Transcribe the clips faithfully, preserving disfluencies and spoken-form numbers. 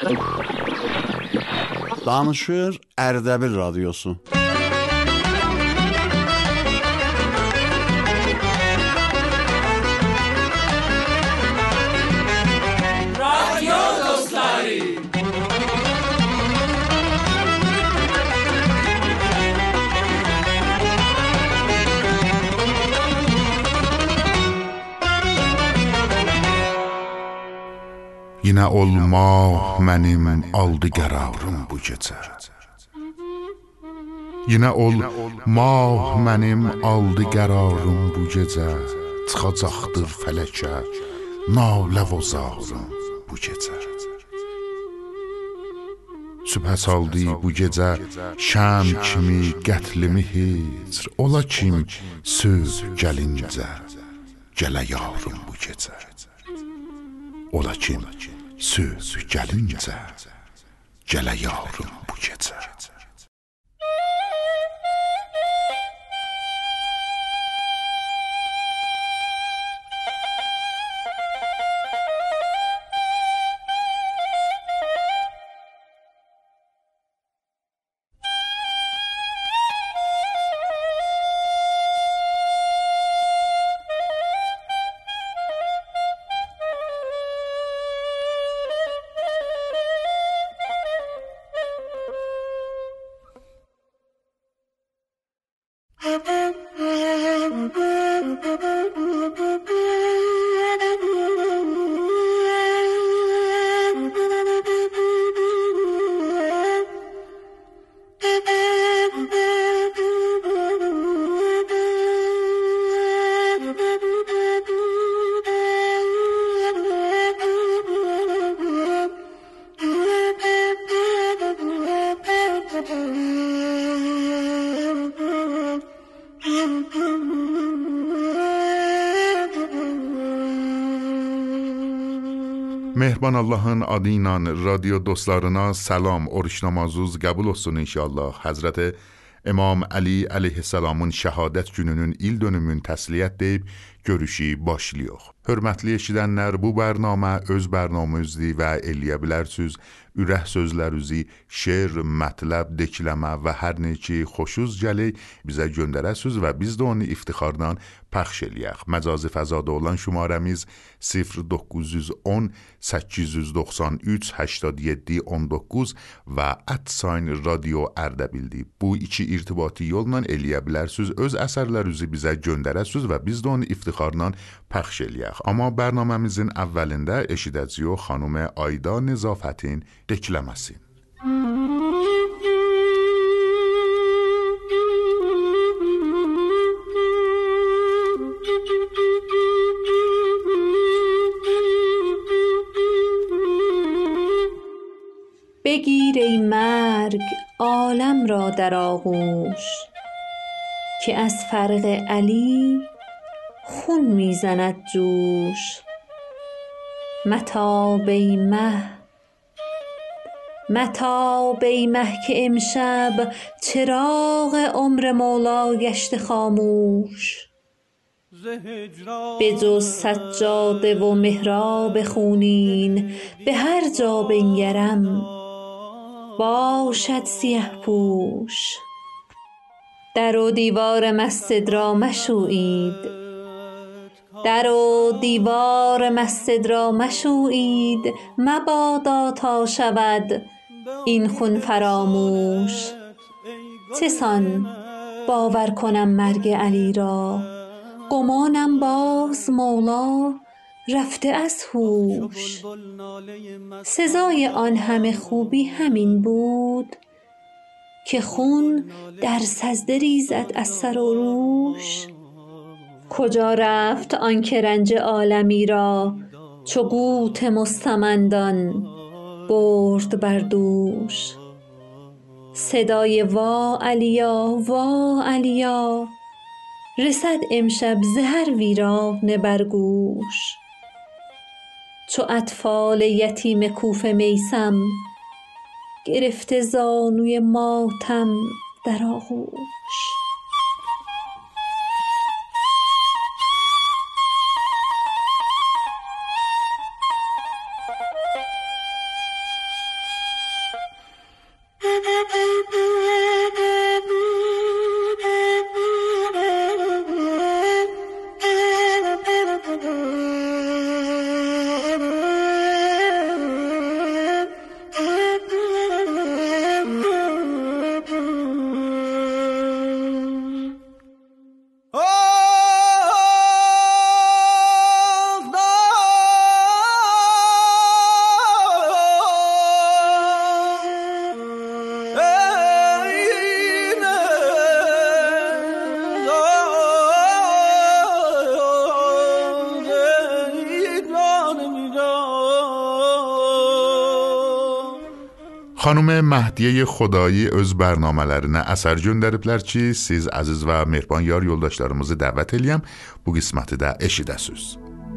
Danışır Ərdəbil Radyosu. Radyo dostları. Yine olmaq mənim aldı qərarım bu gecə. Yine olmaq mənim aldı qərarım bu gecə. Çıxacaqdır fələkə nalə vozarım bu gecə. Sübhə saldı bu gecə şəm kimi qətlimi hicr. Ola kim söz gəlincə gələ yarım bu gecə. Ola kim söz gəlincə gələ yarım bu gecə. Mehriban Allah'ın adıyla radyo dostlarına selam, oruç namazınız qəbul olsun inşallah. Həzrəti İmam Ali əleyhissalamın şəhadət gününün il dönümün təsliyyət deyib görüşü başlayıq. Hörmətli eşidənlər, bu bərnamə öz bərnamənizdir və eləyə bilərsiniz. Ürək sözlərinizi, şeir, mətləb, dekləmə və hər nə ki xoşuz gəlir bizə göndərəsiniz və biz də onu iftixarla pəxş eləyək. Məcazi fəzada olan şumarəmiz sıfır doqquz yüz on səkkiz yüz doxsan üç هشتاد yeddi on doqquz və @sign radio Ərdəbildir. Bu iki irtibati yolla eləyə bilərsiniz. Öz əsərlərinizi bizə göndərəsiniz və biz də onu iftixarla pəxş eləyək. Amma bərnaməmizin əvvəlində eşidəcəyik xanım Ayda Nezafətin dekləməsi. بگیر ای مرگ عالم را در آغوش که از فرق علی خون میزند جوش. متاب ای مه متاب ای مه که امشب چراغ عمر مولا گشته خاموش. به جز سجاده و محراب خونین به هر جا بنگرم باشد سیه پوش. در و دیوار مسجد را مشویید، در و دیوار مسجد را مشویید، مبادا تا شود این خون فراموش. چه سان باور کنم مرگ علی را، گمانم باز مولا رفته از هوش. سزای آن همه خوبی همین بود که خون در سجده ریزد از سر و روش. کجا رفت آن که رنج عالمی را چو قوت مستمندان برد بر دوش. صدای وا علیا وا علیا رسد امشب ز هر ویرانه بر گوش. چو اطفال یتیم کوفه میسم گرفته زانوی ماتم در آغوش. Xanım Məhdiyə Xodayı öz bərnamələrinə əsər göndəriblər ki, siz əziz və mehriban yar yoldaşlarımızı dəvət eləyəm, bu qisməti də eşidəsiniz.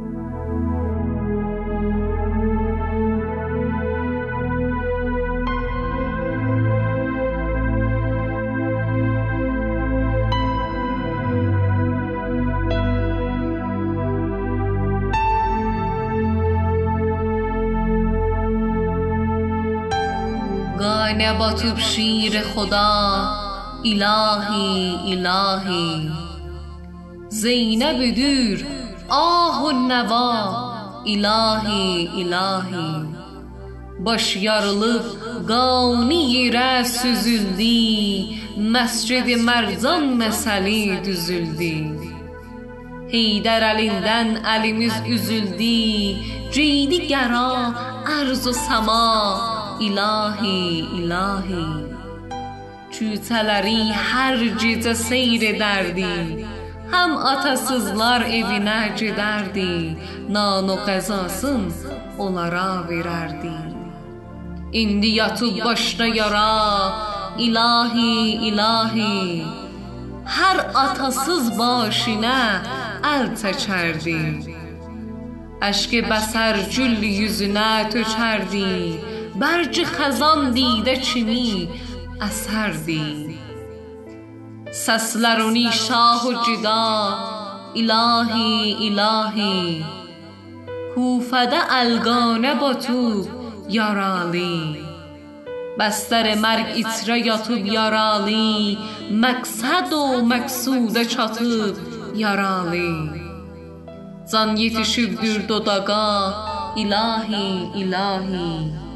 نباتوب شیر خدا الهی الهی زینب دور آه و نوا الهی الهی baş yarılıb qani yerə süzüldü, məscid-i mərzan məsəli düzüldü. Heydər əlindən əlimiz üzüldü, ceydi qəra ərz و səma ilahi ilahi. Küçələri hər gecə seyr edərdi, həm atasızlar evinə gedərdi, nan و qəzasın onlara verərdi. İndi yatıb başda yara ilahi ilahi, hər atasız başinə əl çəkərdi. Əşk bəsər gül yüzünə tökərdi, برج خزان دیده چینی اثردی. سسلرونی شاه و جدا الهی الهی، کوفده الگانه با تو یارالی. بستر مرگ ایتره یاتوب یارالی، مقصد و مقصود çatıp yaralı. Can yetişibdir dodağa ilahi ilahi.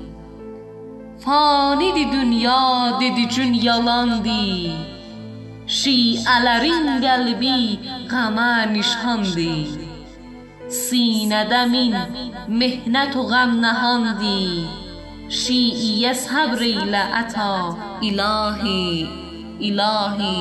Fanidi dünya dedi cün yalandı, şiələrin qəlbi qəmə nişandı. Sinədə min mehnət o qəm nəhandı, şiiyə səbr ilə əta ilahi ilahi.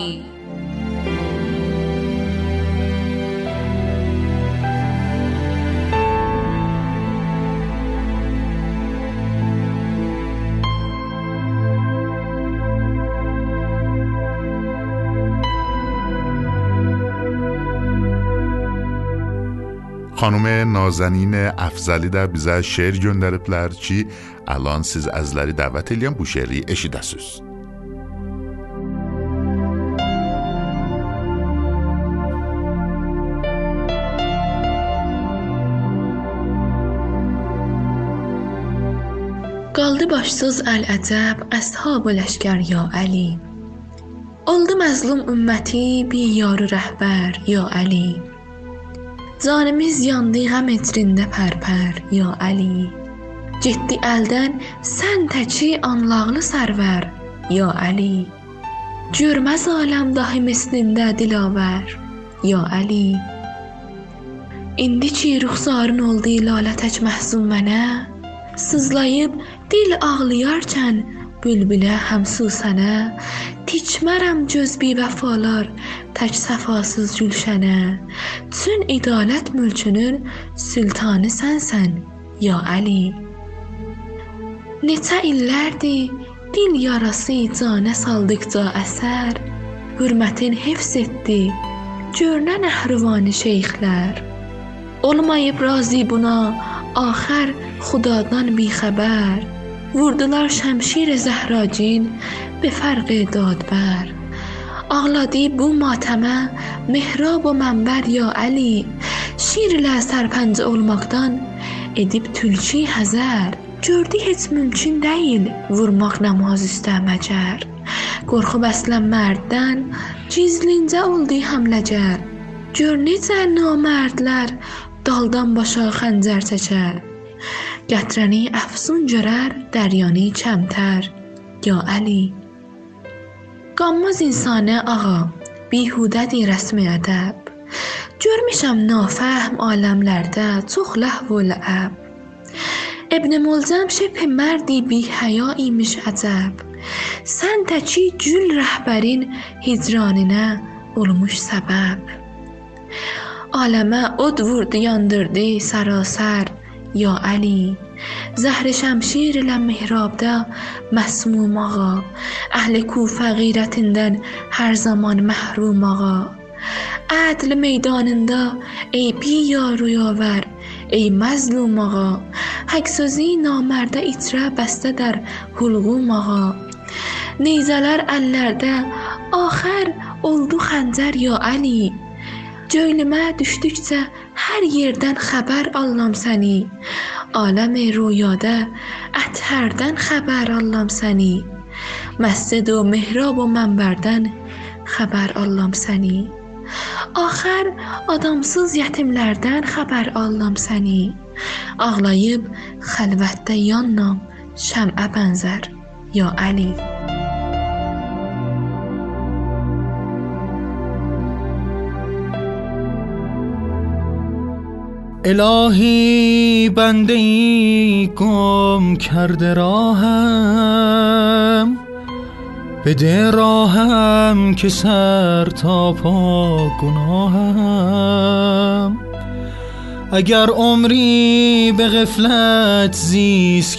Xanım Nazanin Əfzəli də bizə şeir göndəriblər ki, alan siz əzləri dəvət eləyən bu şeiri eşidəsiniz. Qaldı başsız əl-əcəb əshab-ı ləşkər ya Əli. Oldu məzlum ümməti bir yarı rəhbər ya Əli. Canimiz yandı qəm etrində pərpər ya Əli. Getdi əldən sən təki anlaqlı sərvər ya Əli. Görməz aləm dahi mislində dilavər ya Əli. İndi ki ruxsarın oldu lalə tək məhzun mənə, sızlayıb dil ağlayarkən bülbülə həmsu sənə, tikmərəm göz bi vəfalar tək səfasız gülşənə. Çün idalət mülkünün sultanı sənsən ya Əli. Neçə illərdir dil yarası canə saldıqca əsər, hürmətin hifz etdi görünən əhrivani şeyxlər. Olmayıb razı buna axər xudadan bixəbər, vurdular şəmşir zəhracin be fərq dadbər. Ağladı bu matəmə mehrab و mənbər ya Əli. Şirlə sərpəncə olmaqdan edib tülki həzər, gördü heç mümkün deyil vurmaq namaz üstə məcər. Qorxub əslən mərddən gizlincə oldu həmləgər, gör necə namərdlər daldan başa xəncər çəkər. Gətirəni əfsun görər dəryanı kəmtər ya Əli. Qanmaz insanə ağa bihudədir rəsmi ədəb, görmüşəm nafəhm aləmlərdə çox ləhv و لعب. ابن ملزم şəbh mərdi bi həya imiş əcəb, sən təki gül rəhbərin hicranınə olmuş səbəb. Aləmə od vurdu yandırdı sərasər ya Əli. زهر şəmşir ilə mihrabda məsmum ağa, əhli Kufə qeyrətindən hər zaman məhrum ağa. Ədl meydanında ey biyaruyavər, ey məzlum ağa, haqq sözü namərdə itrə bəstədər hulğum ağa. Neyzələr əllərdə axər oldu xəncər ya Əli, Cöylümə düşdükcə hər yerdən xəbər allam səni, Aləmi rüyada ətərdən xəbər allam səni, Məscid و mihrab و mənbərdən xəbər allam səni. Axər adamsız yetimlərdən xəbər allam səni, Ağlayıb xəlvətdə yannam şəmə bənzər ya Əli. الهی بنده ای گم کرده راهم، بده راهم که سر تا پا گناهم. اگر عمری به غفلت زیست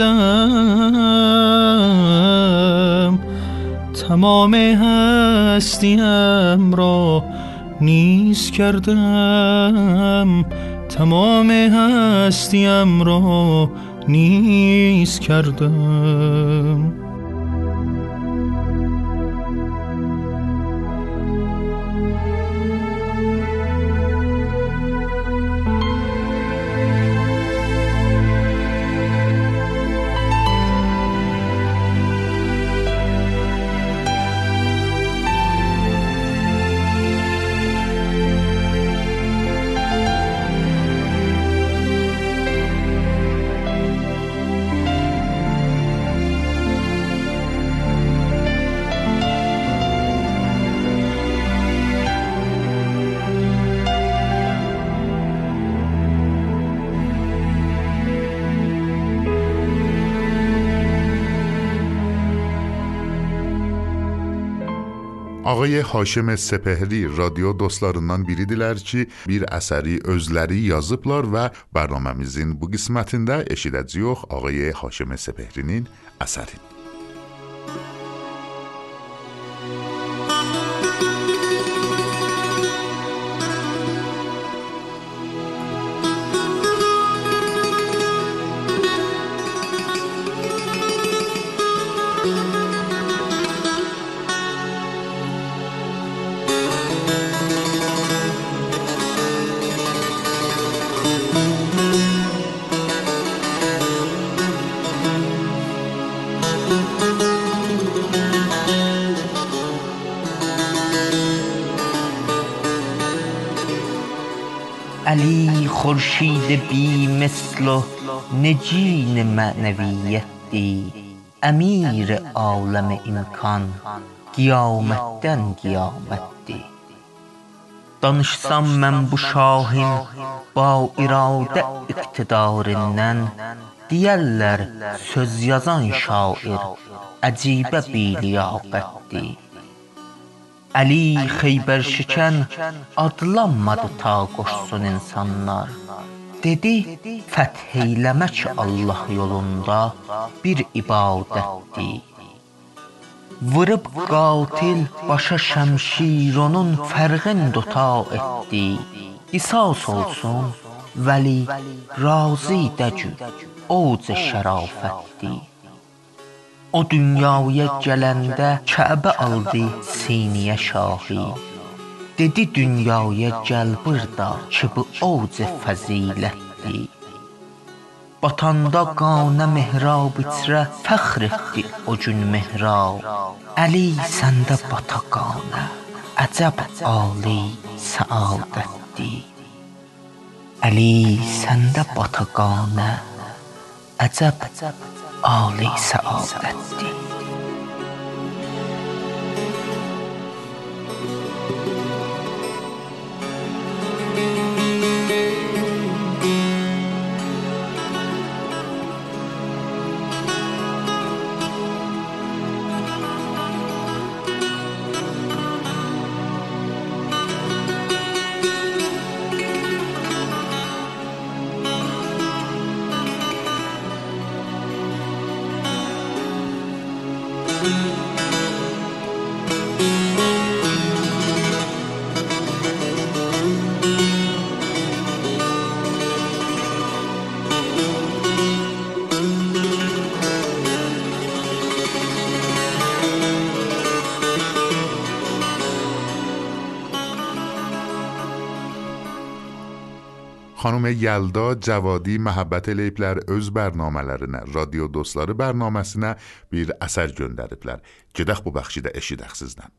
کردم، تمام هستیم را نیست کردم، تمام هستیم را نیست کردم. Ağay Haşim Sepehri radyo dostlarından biridirlər ki, bir əsəri özləri yazıblar və bərnaməmizin bu qismətində eşidəcəyik Ağay Haşim Sepehrinin əsərini. علی خورشید بی مثل و نجین معنویتی، امیر عالم imkan qiyamətdən qiyamətdir. Danışsam mən bu şahin ba iradə iqtidarından, deyərlər söz yazan şair əcibə biliyaqətdir. Ali Xeybər şikən adlanmadı ta qoşsun insanlar. Dedi fəth eyləmək Allah yolunda bir ibadətdir. Vurub qatil başa şəmşir onun fərqin duta etdi. Qisas olsun vəli razi dəcü oc şərafətdir. O dünyaya gələndə Kəbə aldı siniyə şahi. Dedi dünyaya gəl burada ki bu oc fəzilətdir. Batanda qanə mehrab içrə fəxr etdi o gün mehrab. Əli səndə bata qanə əcəb ali səadətdir. Əli səndə bata qanə əcəb Ali səadətdir. Xanım Yəlda Cavadi Məhəbbət eləyiblər öz bərnamələrinə, Radio Dostları bərnaməsinə bir əsər göndəriblər. Gedək bu bəxşi də eşidək sizdən.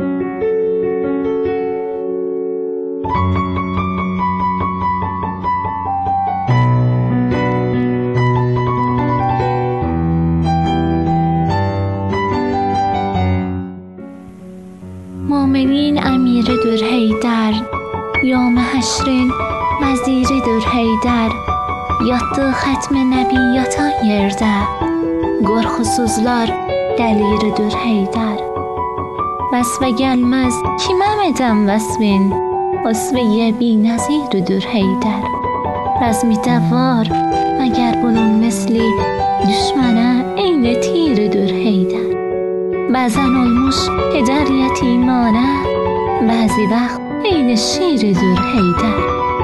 مومنین امیردür Heydər, yom həşrin vəziridir Heydər, yatdı xətm nəbi yatan yerdə, qorxusuzlar dəliridir Heydər. Vəsvə gəlməz kiməm edəm vəsvin, vəsvəyə binəziridir Heydər. Rəzmidə var məgər bunun misli, düşmənə eyni tiridir Heydər. Bəzən olmuş pədər yetimanə, bəzi vaxt eyni şiridir Heydər.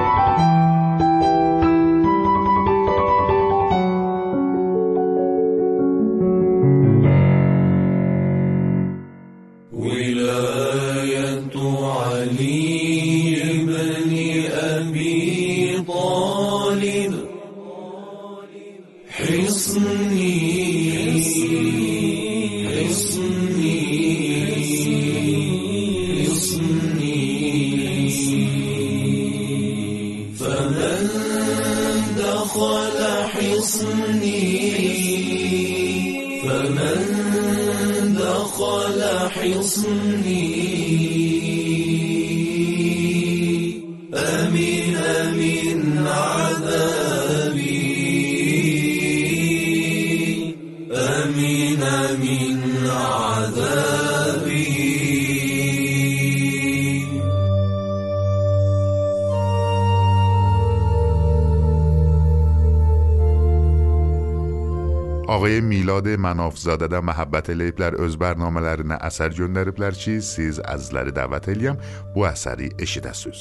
Ağay Milad Mənafzadə də məhəbbət eləyiblər öz bərnamələrinə əsər göndəriblər ki, siz əzizləri dəvət eləyəm bu əsəri eşidəsiniz.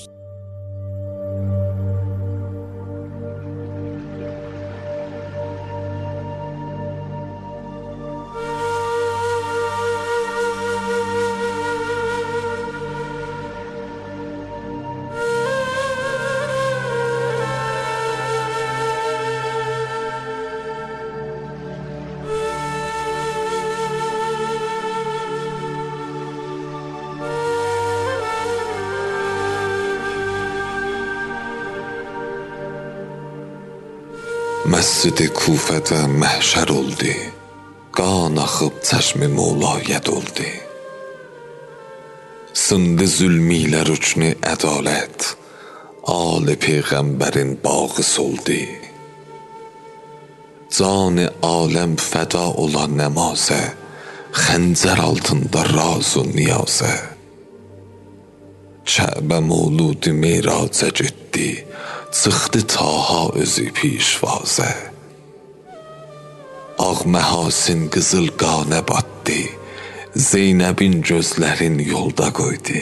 Məscid-i Kufədə məhşər oldu, qan axıb çəşmi Mevlaya doldu. Sındı zülmiylə rüknü ədalət, ali Peyğəmbərin bağı soldu. Can-ı aləm fəda olan nəmazə, xəncər altında raz و niyazə. Kəbə mövlud meyraca getdi, çıxdı Taha özü pişvazə. Ağ məhasin qızıl qanə batdı, Zeynəbin gözlərin yolda qoydu.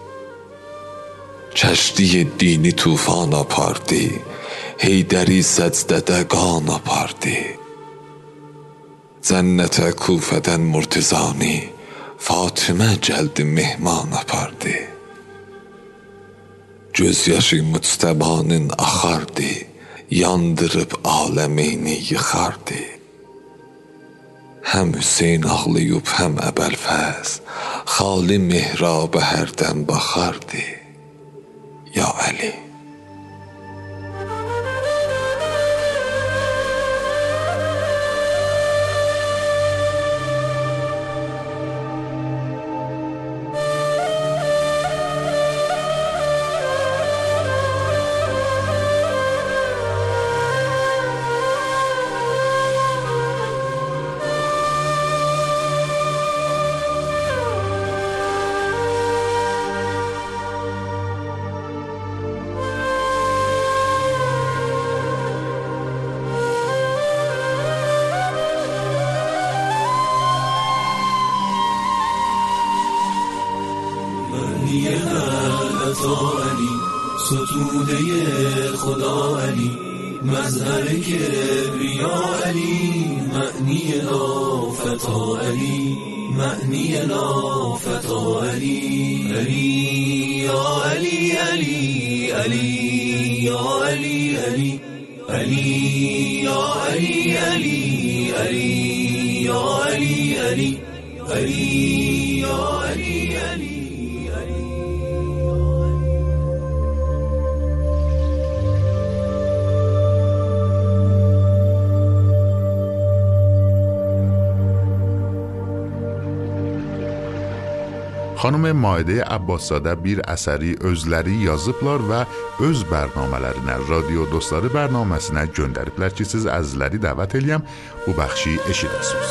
Kəşdi dini tufan apardı, Heydəri səcdədə qan apardı. Cənnətə Kufədən Murtizani, Fatimə gəldi mehman apardı. Gözyaşı müctəbanın axardı, yandırıb aləmeyni yıxardı. Həm Hüseyn ağlayıb, həm Əbəlfəz, xali mehrabə hərdən baxardı. Ya Əli. عیسی علی، ستوده خدا علی، مظهر کبریا علی، معنی لافتا علی، معنی لافتا علی. علی یا علی علی علی یا علی علی علی یا علی علی علی یا علی علی علی یا علی علی. Xanım Maidə Abbaszadə bir əsəri özləri yazıblar və öz bərnamələrinə, Radio Dostları bərnaməsinə göndəriblər ki, siz əzizləri dəvət eləyəm, bu bəxşi eşidəsiniz.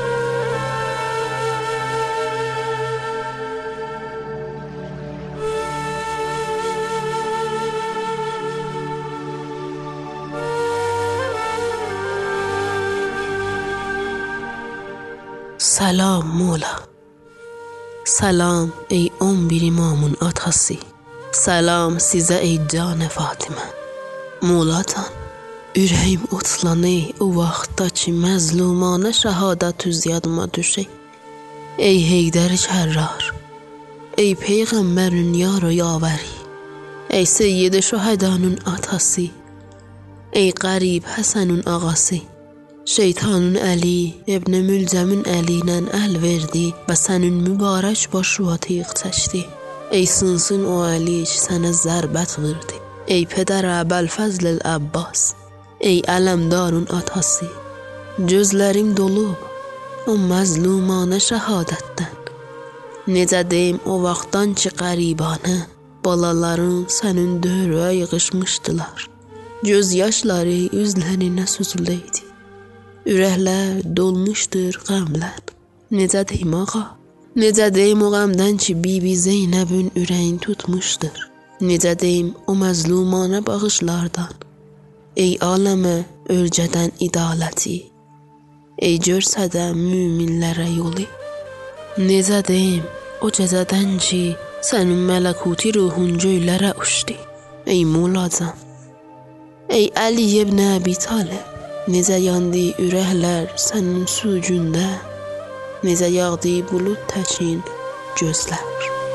سلام مولا، سلام ey on bir imamın atası, salam sizə ey can Fatimə. Moolatan, ürəyim otlanır o vaxtda ki məzlumanə şəhadət üz yadıma düşək. Ey Heydər Kərrar, ey Peyğəmbərin yar o yavəri, ey Seyyid şühədanın atası, ey qərib Həsənün ağası. Şeytanın əli, İbn Mülcəmin əli ilə əl verdi və sənin mübarək başına tiq çəkdi. Ey sınsın o əli ki sənə zərbət verdi. Ey pədər Əbəlfəzl Əbbas, ey ələmdarın atası. Gözlərim dolub o məzlumanə şəhadətdən. Necə deyim o vaxtdan ki qəribanə, balaların sənin dövrə yığışmışdılar. Göz yaşları üzlərinə süzüləydi. Ürəklər dolmuşdur qəmlə. Necə deyim ağa? Necə deyim o qəmdən ki Bibi Zeynəbin ürəyin tutmuşdur? Necə deyim o məzlumanə bağışlardan? Ey aləmə ölcədən idaləti, ey görsədə müminlərə yolu. Necə deyim o cəzədən ki sənin mələkuti ruhun göylərə uçdu? Ey Moolacan, ey Əli ibn Əbi Talib, necə yandı ürəklər sənin sucunda, necə yağdı bulud təkin gözlər.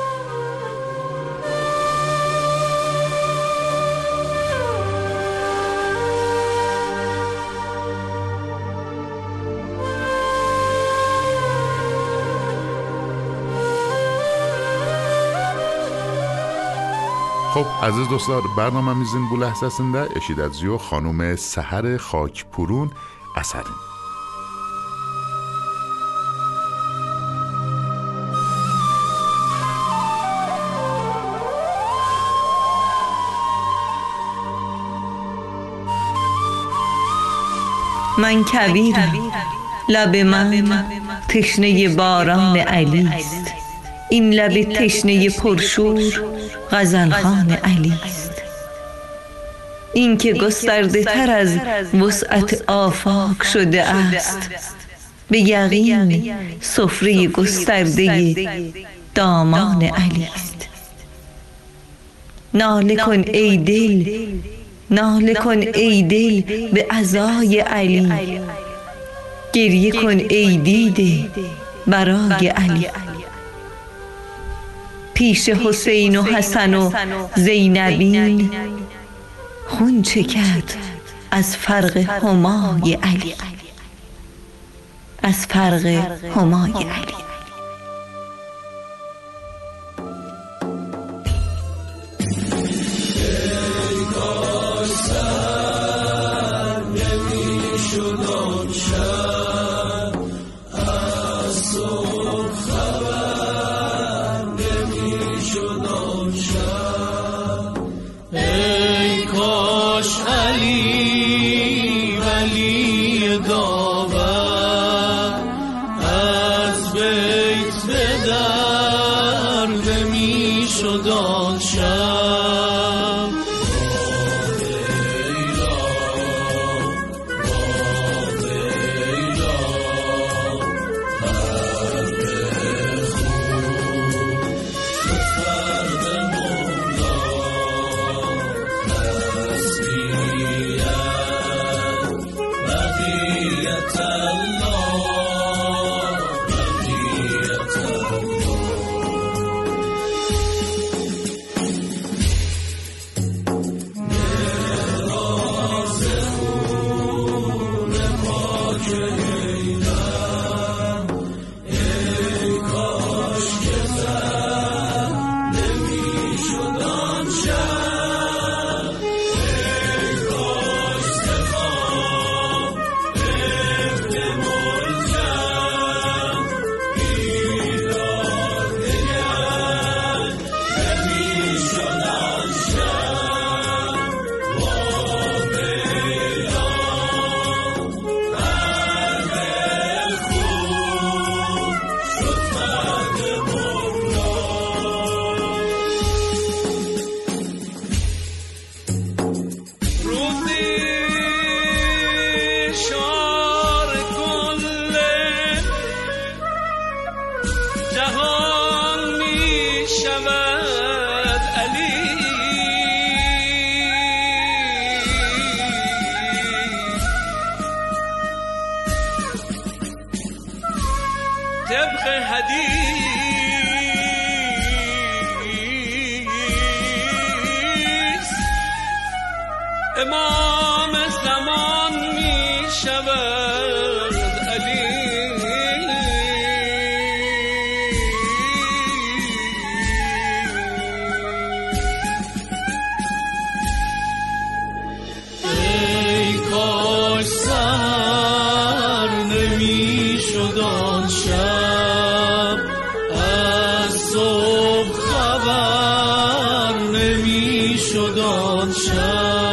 خب عزیز dostlar برنامemizin bu ləhzəsində eşidəcəyik xanım Səhər Xakpurun əsərini. من کویرم، لب من تشنه باران علی است. این لب تشنه پرشور غزلخوان علی است. این که گسترده تر از وسعت آفاق شده است، به یقین سفره گسترده دامان علی است. ناله کن ای دل، ناله کن ای دل به عزای علی. گریه کن ای دیده برای علی. پیش حسین و حسن و زینبین خون چکد از فرق همای علی، از فرق همای علی. از به جهان می شود علی طبق حدیث امام زمان می شود علی ای کاش سر نمی شد آن شب از صبح خبر نمی شد آن شب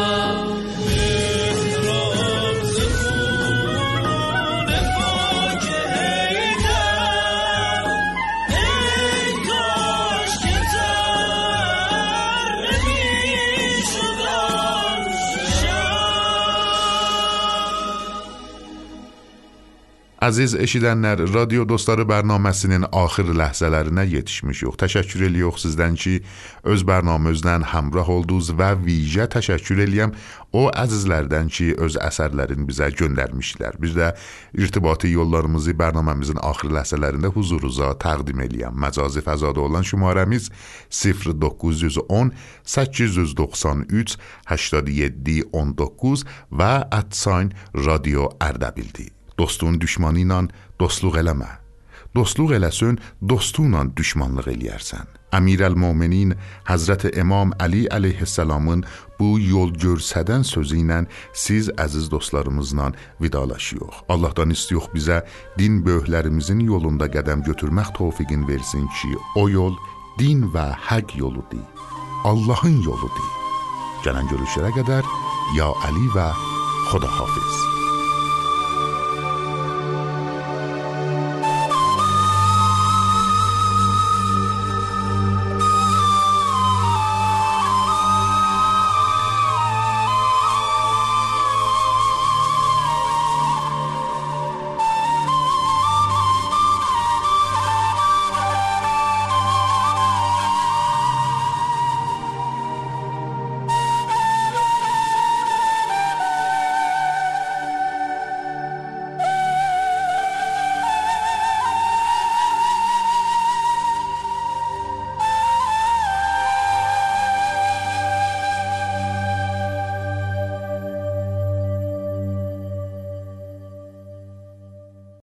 Aziz eşidənlər, radio dostları bərnaməsinin axır ləhzələrinə yetişmişik. Təşəkkür edirik sizdən ki, öz bərnamımızla həmrah oldunuz və vicə təşəkkür edirəm o əzizlərdən ki, öz əsərlərini bizə göndərmişlər. Biz də irtibati yollarımızı bərnaməmizin axır ləhzələrində huzurunuza təqdim edirəm. Məcazi fəzada olan şumarəmiz sıfır doqquz yüz on səkkiz yüz doxsan üç هشتاد و هفت on doqquz və @sign radio Ərdəbildir. Dostluğun düşmanı ilə dostluq eləmə. Dostluq eləsən, dostunla düşmanlıq eləyərsən. Əmirəl-Möminin Həzrət İmam Əli əleyhissalamın bu yol görsədən sözü ilə siz əziz dostlarımızla vidalaşıyoruz. Allahdan istiyoruz bizə din böyüklərimizin yolunda qədəm götürmək tövfiqin versin ki, o yol din və həq yoludur. Allahın yoludur. Gələn görüşlərə qədər ya Əli və Xudahafiz.